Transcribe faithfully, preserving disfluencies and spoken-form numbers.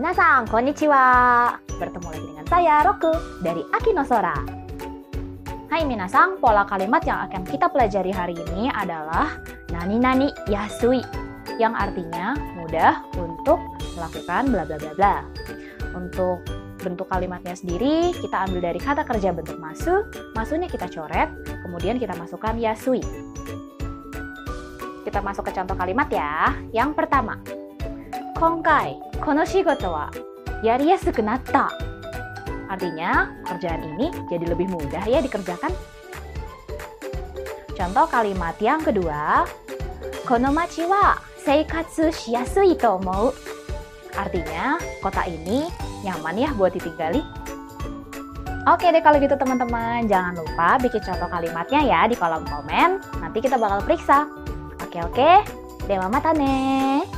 Minasan, konnichiwa. Bertemu lagi dengan saya, Roku, dari Akinosora. Hai minasan, pola kalimat yang akan kita pelajari hari ini adalah nani-nani yasui, yang artinya mudah untuk melakukan bla bla bla bla. Untuk bentuk kalimatnya sendiri, kita ambil dari kata kerja bentuk masu, masunya kita coret, kemudian kita masukkan yasui. Kita masuk ke contoh kalimat ya. Yang pertama, Konkai, kono shigoto wa yariyasuku natta. Artinya, kerjaan ini jadi lebih mudah ya dikerjakan. Contoh kalimat yang kedua, kono machi wa seikatsu shiyasui to omou. Artinya, kota ini nyaman ya buat ditinggali. Oke deh kalau gitu teman-teman, jangan lupa bikin contoh kalimatnya ya di kolom komen. Nanti kita bakal periksa. Oke oke, dewa mata ne.